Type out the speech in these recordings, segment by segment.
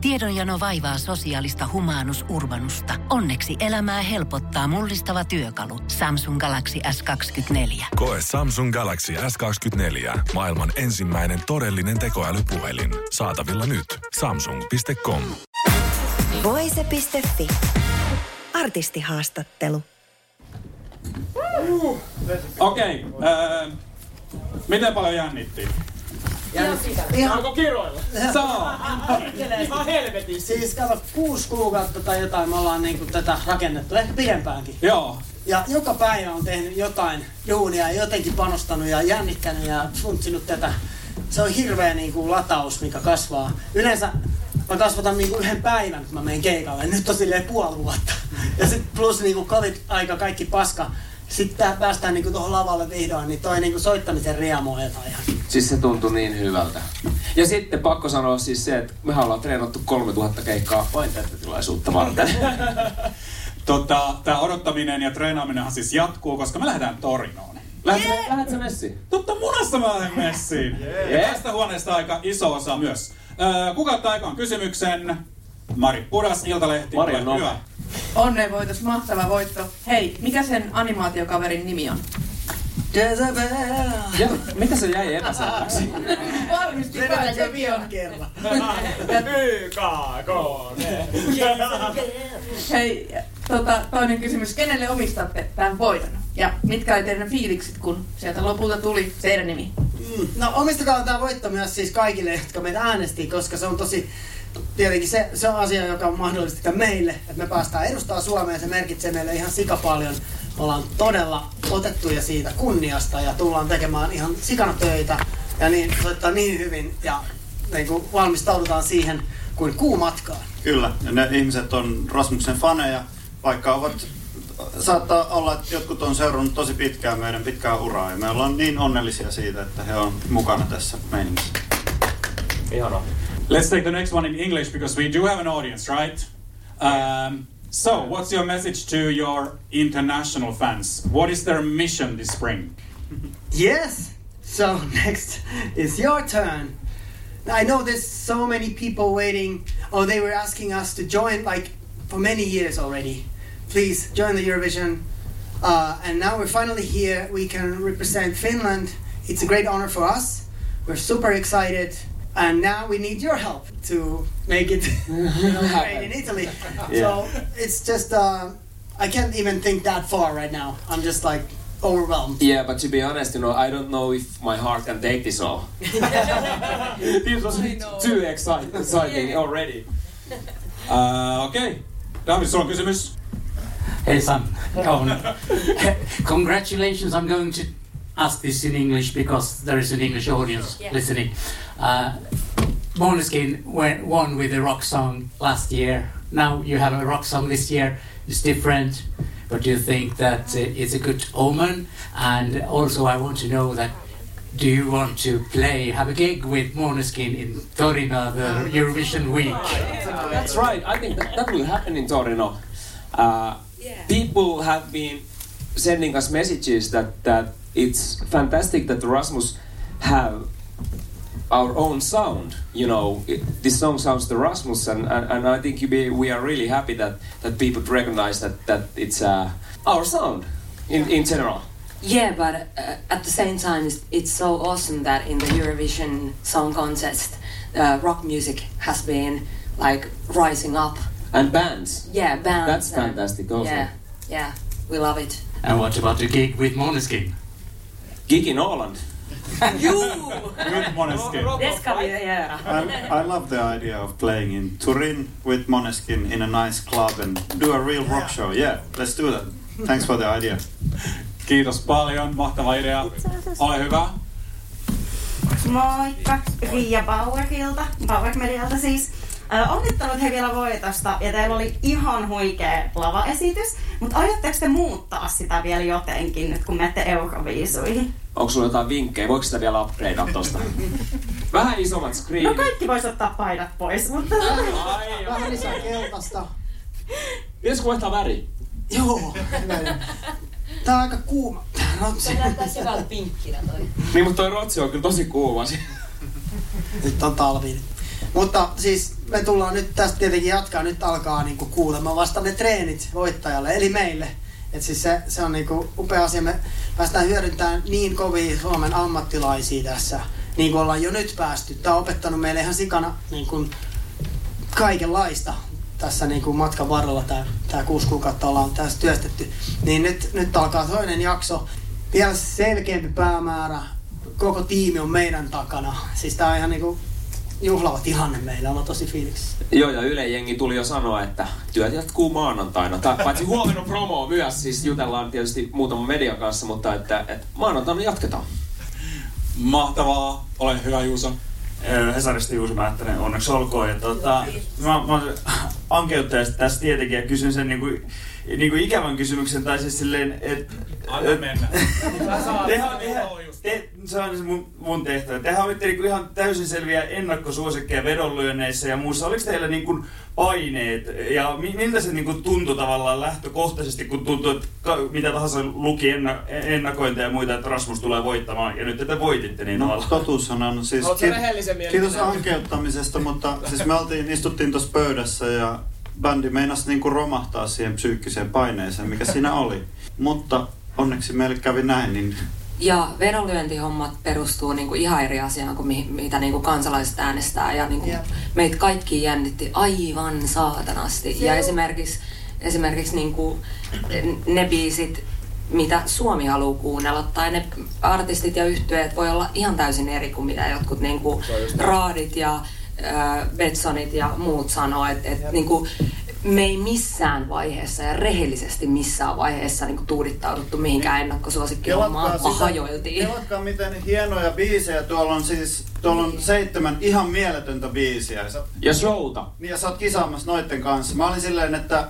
Tiedonjano vaivaa sosiaalista humanus urbanusta. Onneksi elämää helpottaa mullistava työkalu. Samsung Galaxy S24. Koe Samsung Galaxy S24. Maailman ensimmäinen todellinen tekoälypuhelin. Saatavilla nyt. Samsung.com. Voise.fi. Artistihaastattelu. Okei. Miten paljon jännittiin? Saanko kiroilla? Saa. Ihan helvetissä. Siis kato, 6 kuukautta tai jotain me ollaan niinku tätä rakennettu, ehkä pidempäänkin. Joo. Ja joka päivä on tehnyt jotain duunia ja jotenkin panostanut ja jännittänyt ja funtsinut tätä. Se on hirveä niinku lataus, mikä kasvaa. Yleensä mä kasvatan niinku 1 päivän, kun mä menen keikalle. Nyt on silleen 5 vuotta. Ja sit plus niinku covid-aika, kaikki paska. Sitten päästään niinku tuohon lavalle vihdoin, niin toi niinku soittamisen riemu on jotain ihan. Siis se tuntui niin hyvältä. Ja sitten pakko sanoa siis se, että mehän ollaan treenattu 3000 keikkaa vain tätä tilaisuutta varten. Tää odottaminen ja treenaaminenhan siis jatkuu, koska me lähdetään Torinoon. Lähdet sä messiin? Totta munassa mä lähden messiin. Ja tästä huoneesta aika iso osa myös. Kuka ottaa aikaan kysymyksen? Mari Pudas, Iltalehti. Mari on hyvä. Onnenvoitos, mahtava voitto. Hei, mikä sen animaatiokaverin nimi on? Jezebel! Ja mitä se jäi epäselväksi? Varmasti pääsee vielä kerran. Hei, toinen kysymys. Kenelle omistatte tämän voiton? Ja mitkä oli teidän fiilikset, kun sieltä lopulta tuli teidän nimi? No omistakaa tämä voitto myös siis kaikille, jotka meitä äänesti, koska se on tosi... Tietenkin se on asia, joka on mahdollista meille, että me päästään edustaa Suomea. Se merkitsee meille ihan sikapaljon. Me ollaan todella otettuja siitä kunniasta ja tullaan tekemään ihan sikana töitä ja niin, soittaa niin hyvin ja niin kuin valmistaudutaan siihen kuin kuumatkaan. Kyllä, ja ne ihmiset on Rasmuksen faneja, vaikka saattaa olla, että jotkut on seurannut tosi pitkään meidän pitkää uraa ja me ollaan niin onnellisia siitä, että he on mukana tässä meiningissä. Ihanaa. Let's take the next one in English because we do have an audience, right? So, what's your message to your international fans? What is their mission this spring? Yes! So next is your turn. I know there's so many people waiting. Oh, they were asking us to join like for many years already. Please join the Eurovision. And now we're finally here. We can represent Finland. It's a great honor for us. We're super excited. And now we need your help to make it great in Italy. Yeah. So it's just, I can't even think that far right now. I'm just like overwhelmed. Yeah, but to be honest, I don't know if my heart can take this all. This was too exciting already. Okei. David, sulla on kysymys? Hey Sam, congratulations. I'm going to ask this in English because there is an English audience listening. Måneskin won with a rock song last year. Now you have a rock song this year. It's different, but do you think that it's a good omen? And also I want to know that do you want to have a gig with Måneskin in Torino, the Eurovision week? That's right. I think that will happen in Torino. People have been sending us messages that it's fantastic that Rasmus have our own sound. This song sounds to Rasmus, and I think we are really happy that people recognize that it's our sound in general. Yeah, but at the same time, it's so awesome that in the Eurovision Song Contest, rock music has been like rising up. And bands. Yeah, bands. That's fantastic also. Yeah, we love it. And what about the gig with Måneskin? Gig in Åland. With Måneskin. I love the idea of playing in Turin with Måneskin in a nice club and do a real rock show. Yeah, let's do that. Thanks for the idea. Kiitos paljon, mahtava idea. Ole hyvä. Moikka, Riia Bauerilta, Bauer Medialta siis. Onnittelut he vielä voitosta ja teillä oli ihan huikea lavaesitys, mutta aiotteko te muuttaa sitä vielä jotenkin nyt kun menette Euroviisuihin? Onko sulla jotain vinkkejä? Voiko sitä vielä upgradea tosta? Vähän isommat screenit. No kaikki vois ottaa paidat pois, mutta... Vähän lisää keltaista. Pitäisikö vaihtaa väri? Joo. Tää on aika kuuma. Se näyttää syvällä pinkkinä toi. Niin, mutta toi rotsi on kyllä tosi kuuma. Nyt on talvi. Mutta siis me tullaan nyt tästä tietenkin jatkaa. Nyt alkaa niinku kuulemaan vasta ne treenit voittajalle, eli meille. Et siis se on niinku upea asia. Me päästään hyödyntämään niin kovia Suomen ammattilaisia tässä, niin kuin ollaan jo nyt päästy. Tämä on opettanut meille ihan sikana niin kuin kaikenlaista tässä niin kuin matkan varrella. Tämä 6 kuukautta ollaan tässä työstetty. Niin nyt alkaa toinen jakso. Vielä selkeämpi päämäärä. Koko tiimi on meidän takana. Siis tää on ihan niinku juhlava tilanne meillä. Ollaan tosi fiiliksissä. Joo, ja Yle jengi tuli jo sanoa, että työt jatkuu maanantaina. Paitsi huomenna promo myös, siis jutellaan tietysti muutaman median kanssa, mutta että maanantaina jatketaan. Mahtavaa. Ole hyvä, Juuso. Hesarista Juuso Määttänen, onneksi olkoon. Ja mä olen ankeuttajasta tässä tietenkin ja kysyn sen niinku ikävän kysymyksen, tai siis silleen, että... Anna mennä. Se on mun tehtävä. Tehän olitte niinku ihan täysin selviä ennakkosuosikkeja vedonlyönneissä ja muussa. Oliko teillä niinku paineet ja miltä se niinku tuntui tavallaan lähtökohtaisesti, kun tuntui, että mitä tahansa luki ennakointeja ja muita, että Rasmus tulee voittamaan ja nyt te voititte niin tavallaan? Totuushan on siis... Kiitos ankeuttamisesta, mutta siis me istuttiin tuossa pöydässä ja bändi meinasi niinku romahtaa siihen psyykkiseen paineeseen, mikä siinä oli. Mutta onneksi meille kävi näin, niin... Ja vedonlyöntihommat perustuu niinku ihan eri asiaan kuin mitä niinku kansalaiset äänestää. Ja niinku meitä kaikki jännitti aivan saatanasti. Ja esimerkiksi niinku ne biisit, mitä Suomi haluaa kuunnella, tai ne artistit ja yhtyeet voi olla ihan täysin eri kuin mitä jotkut niinku Raadit ja Betsonit ja muut sanoo. Et niinku, me ei missään vaiheessa ja rehellisesti missään vaiheessa niinku tuudittauduttu mihinkään ennakkosuosikkihommaan, vaan hajoiltiin. Kelatkaa miten hienoja biisejä. Tuolla on 7 ihan mieletöntä biisiä. Ja showta. Niin ja sä oot kisaamassa noitten kanssa. Mä olin silleen, että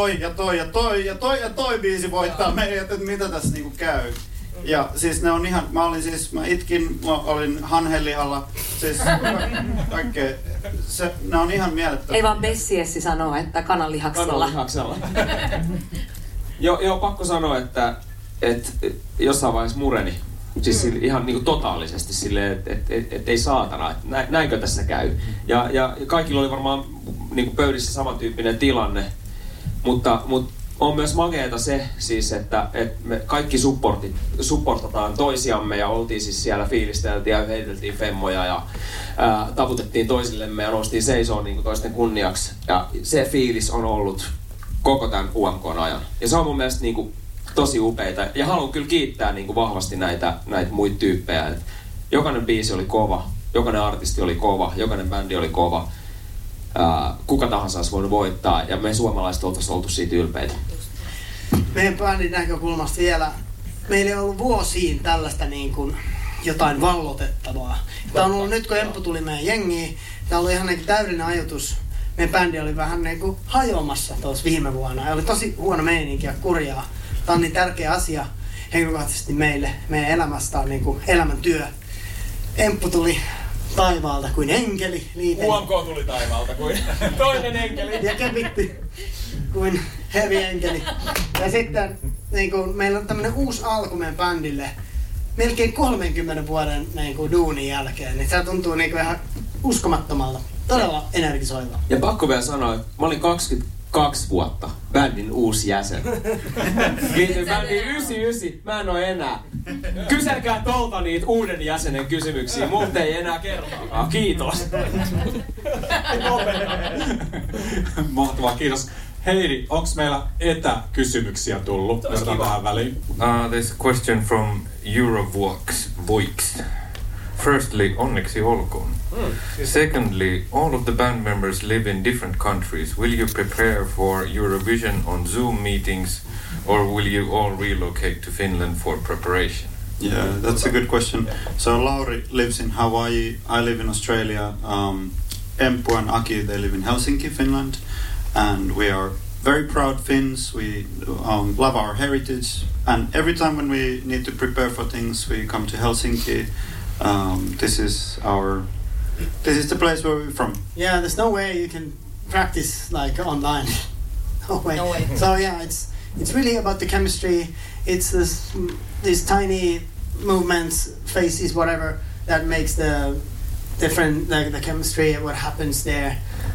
toi biisi voittaa meidät, että mitä tässä niinku käy. Ja siis ne on ihan, mä itkin, mä olin hanhelihalla, siis kaikkea, ne on ihan mielettömiä. Ei vaan Bessiessi sanoo, että kananlihaksella. Kananlihaksella. Joo, pakko sanoa, että jossain vaiheessa mureni. Siis ihan niinku totaalisesti silleen, että ei saatana, että näinkö tässä käy. Ja kaikilla oli varmaan niinku pöydissä samantyyppinen tilanne, mutta on myös makeeta se siis, että me kaikki supportataan toisiamme ja oltiin siis siellä, fiilisteltiin ja heiteltiin femmoja ja taputettiin toisillemme ja noustiin seisoon niin kuin toisten kunniaksi. Ja se fiilis on ollut koko tämän UMK:n ajan. Ja se on mun mielestä niin kuin tosi upeita. Ja haluan kyllä kiittää niin kuin vahvasti näitä muita tyyppejä. Et jokainen biisi oli kova, jokainen artisti oli kova, jokainen bändi oli kova. Kuka tahansa olisi voinut voittaa ja me suomalaiset oltaisiin oltu siitä ylpeitä. Meidän bändin näkökulmasta vielä, meillä ei ollut vuosiin tällaista niin kuin jotain vallotettavaa. Tämä on ollut nyt kun Emppu tuli meidän jengiin, tämä oli ihan niin kuin täydellinen ajatus. Meidän bändi oli vähän niin kuin hajoamassa tuossa viime vuonna ja oli tosi huono meininki ja kurjaa. Tämä on niin tärkeä asia henkilökohtaisesti meille, meidän elämästä on niin kuin elämäntyö. Emppu tuli taivaalta kuin enkeli. UMK tuli taivaalta kuin toinen enkeli. Ja kepitti kuin heavy enkeli. Ja sitten niin kuin, meillä on tämmönen uusi alku meidän bändille melkein 30 vuoden niin kuin, duunin jälkeen. Niin se tuntuu niin kuin, ihan uskomattomalta. Todella energisoiva. Ja pakko vielä sanoa, että mä olin 22 vuotta bändin uusi jäsen. Liityin bändiin 99, mä en oo enää. Kyselkää tolta niitä uuden jäsenen kysymyksiä, multa ei enää kertaakaan. Kiitos. Mahtavaa, kiitos. Heidi, onks meillä etäkysymyksiä tullut? Otetaan tähän väliin. There's a question from Eurovoix. Firstly, onneksi olkoon. Secondly, all of the band members live in different countries. Will you prepare for Eurovision on Zoom meetings or will you all relocate to Finland for preparation? Yeah, that's a good question. So Lauri lives in Hawaii, I live in Australia. Emppu and Aki, they live in Helsinki, Finland. And we are very proud Finns. We love our heritage. And every time when we need to prepare for things, we come to Helsinki. This is the place where we're from. Yeah, there's no way you can practice like online. No way. So yeah, it's really about the chemistry. It's these tiny movements, faces, whatever that makes the different the chemistry. What happens there.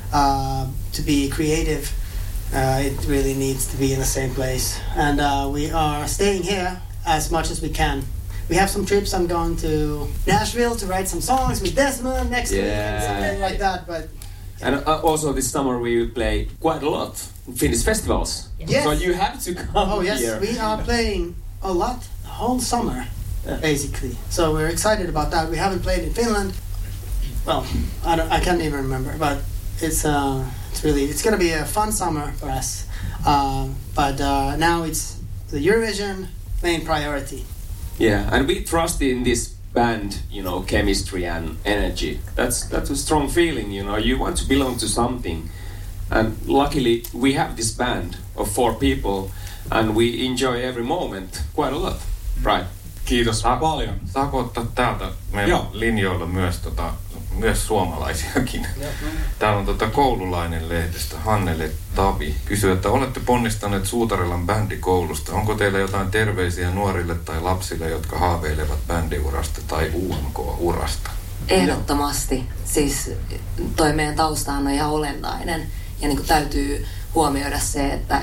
to be creative, it really needs to be in the same place. And we are staying here as much as we can. We have some trips. I'm going to Nashville to write some songs with Desmond next week and something like that. But and also this summer we will play quite a lot Finnish festivals. Yes. So you have to come Oh yes, here. we are playing a lot the whole summer, basically. So we're excited about that. We haven't played in Finland. Well, I can't even remember, but it's going to be a fun summer for us. But now it's the Eurovision main priority. Yeah, and we trust in this band, you know, chemistry and energy. That's a strong feeling, you know. You want to belong to something. And luckily we have this band of 4 people and we enjoy every moment quite a lot. Right. Kiitos paljon. Saako ottaa täältä meidän linjoilla myös suomalaisiakin? Täällä on koululainen lehdestä Hannele Tavi kysyy, että olette ponnistaneet Suutarilan bändikoulusta. Onko teillä jotain terveisiä nuorille tai lapsille, jotka haaveilevat bändiurasta tai UMK-urasta? Ehdottomasti. Siis toi meidän taustahan on ihan olennainen. Ja niin kuin täytyy huomioida se, että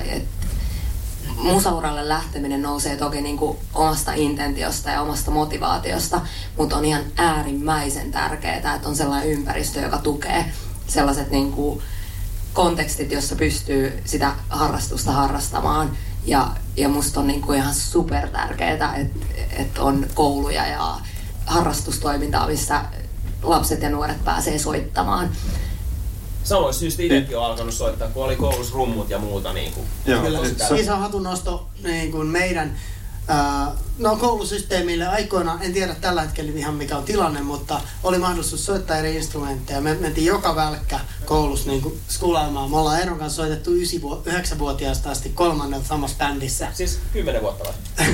musauralle lähteminen nousee toki niin kuin omasta intentiosta ja omasta motivaatiosta, mutta on ihan äärimmäisen tärkeää, että on sellainen ympäristö, joka tukee sellaiset niin kuin kontekstit, jossa pystyy sitä harrastusta harrastamaan. Ja musta on niin kuin ihan super tärkeää, että on kouluja ja harrastustoimintaa, missä lapset ja nuoret pääsee soittamaan. Samoin syystä itsekin on alkanut soittaa, kun oli koulussa rummut ja muuta. Niin kuin, iso hatunnosto niin kuin meidän koulusysteemille aikoina, en tiedä tällä hetkellä ihan mikä on tilanne, mutta oli mahdollisuus soittaa eri instrumentteja. Me mentiin joka välkkä koulussa niin kuin skulaamaan. Me ollaan Eeron kanssa soitettu 9-vuotiaasta asti 3. samassa bändissä. Siis 10 vuotta vai?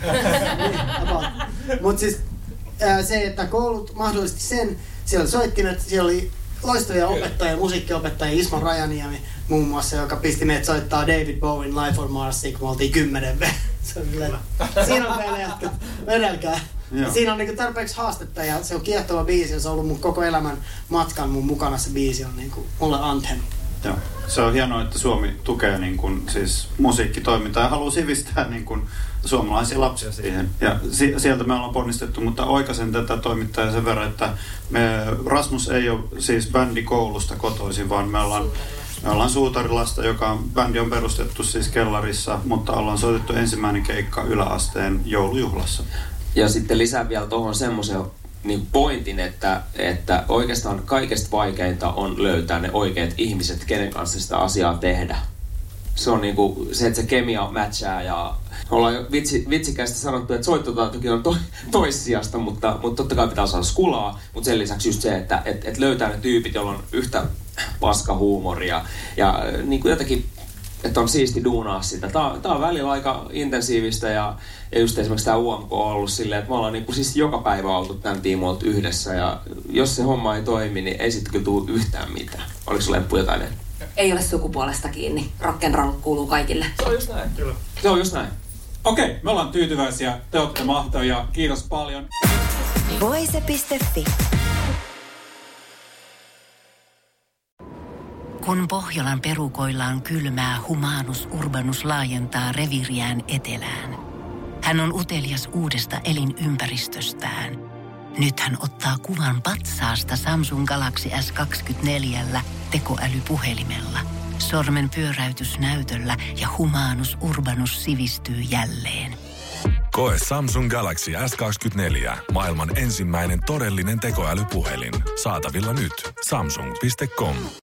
Mutta siis se, että koulut mahdollisti sen, siellä oli soittimet, siellä oli loistavia opettajia, musiikkiopettajia, Ismo Rajaniemi muun muassa, joka pisti meidät soittaa David Bowen Life on Marsia, kun me oltiin 10. Siinä on meille jätkät, vedelkää. Siinä on niinku tarpeeksi haastetta ja se on kiehtova biisi ja se on ollut mun koko elämän matkan mun mukana. Se biisi on niinku mulle anthem. Joo. Se on hienoa, että Suomi tukee niin kuin, siis musiikkitoimintaa ja haluaa sivistää niin kuin, suomalaisia lapsia siihen. Ja sieltä me ollaan ponnistettu, mutta oikaisen tätä toimittajaa sen verran, että Rasmus ei ole siis bändikoulusta kotoisin, vaan me ollaan Suutarilasta, bändi on perustettu siis kellarissa, mutta ollaan soitettu ensimmäinen keikka yläasteen joulujuhlassa. Ja sitten lisää vielä tuohon semmoisen niin pointin, että oikeastaan kaikesta vaikeinta on löytää ne oikeat ihmiset, kenen kanssa sitä asiaa tehdä. Se on niinku se, että se kemia matchaa ja ollaan jo vitsikästi sanottu, että soittotaitokin on toissijasta, mutta totta kai pitää saada skulaa, mutta sen lisäksi just se, että löytää ne tyypit, joilla on yhtä paskahuumoria ja niinku jotenkin, että on siisti duunaa sitä. Tää on välillä aika intensiivistä ja just esimerkiksi tää UMK on ollut silleen, että me ollaan niinku siis joka päivä oltu tämän tiimoilta yhdessä ja jos se homma ei toimi, niin ei sitten kyllä tule yhtään mitään. Oliko sulla Leppu jotain? Ei ole sukupuolesta kiinni. Rock'n'roll kuuluu kaikille. Se on just näin, kyllä. Se on just näin. Okei, me ollaan tyytyväisiä. Te olette mahtavia. Kiitos paljon. Voise.fi. Kun Pohjolan perukoillaan kylmää, Humanus Urbanus laajentaa reviiriään etelään. Hän on utelias uudesta elinympäristöstään. Nyt hän ottaa kuvan patsaasta Samsung Galaxy S24 tekoälypuhelimella. Sormen pyöräytys näytöllä ja Humanus Urbanus sivistyy jälleen. Koe Samsung Galaxy S24. Maailman ensimmäinen todellinen tekoälypuhelin. Saatavilla nyt. Samsung.com.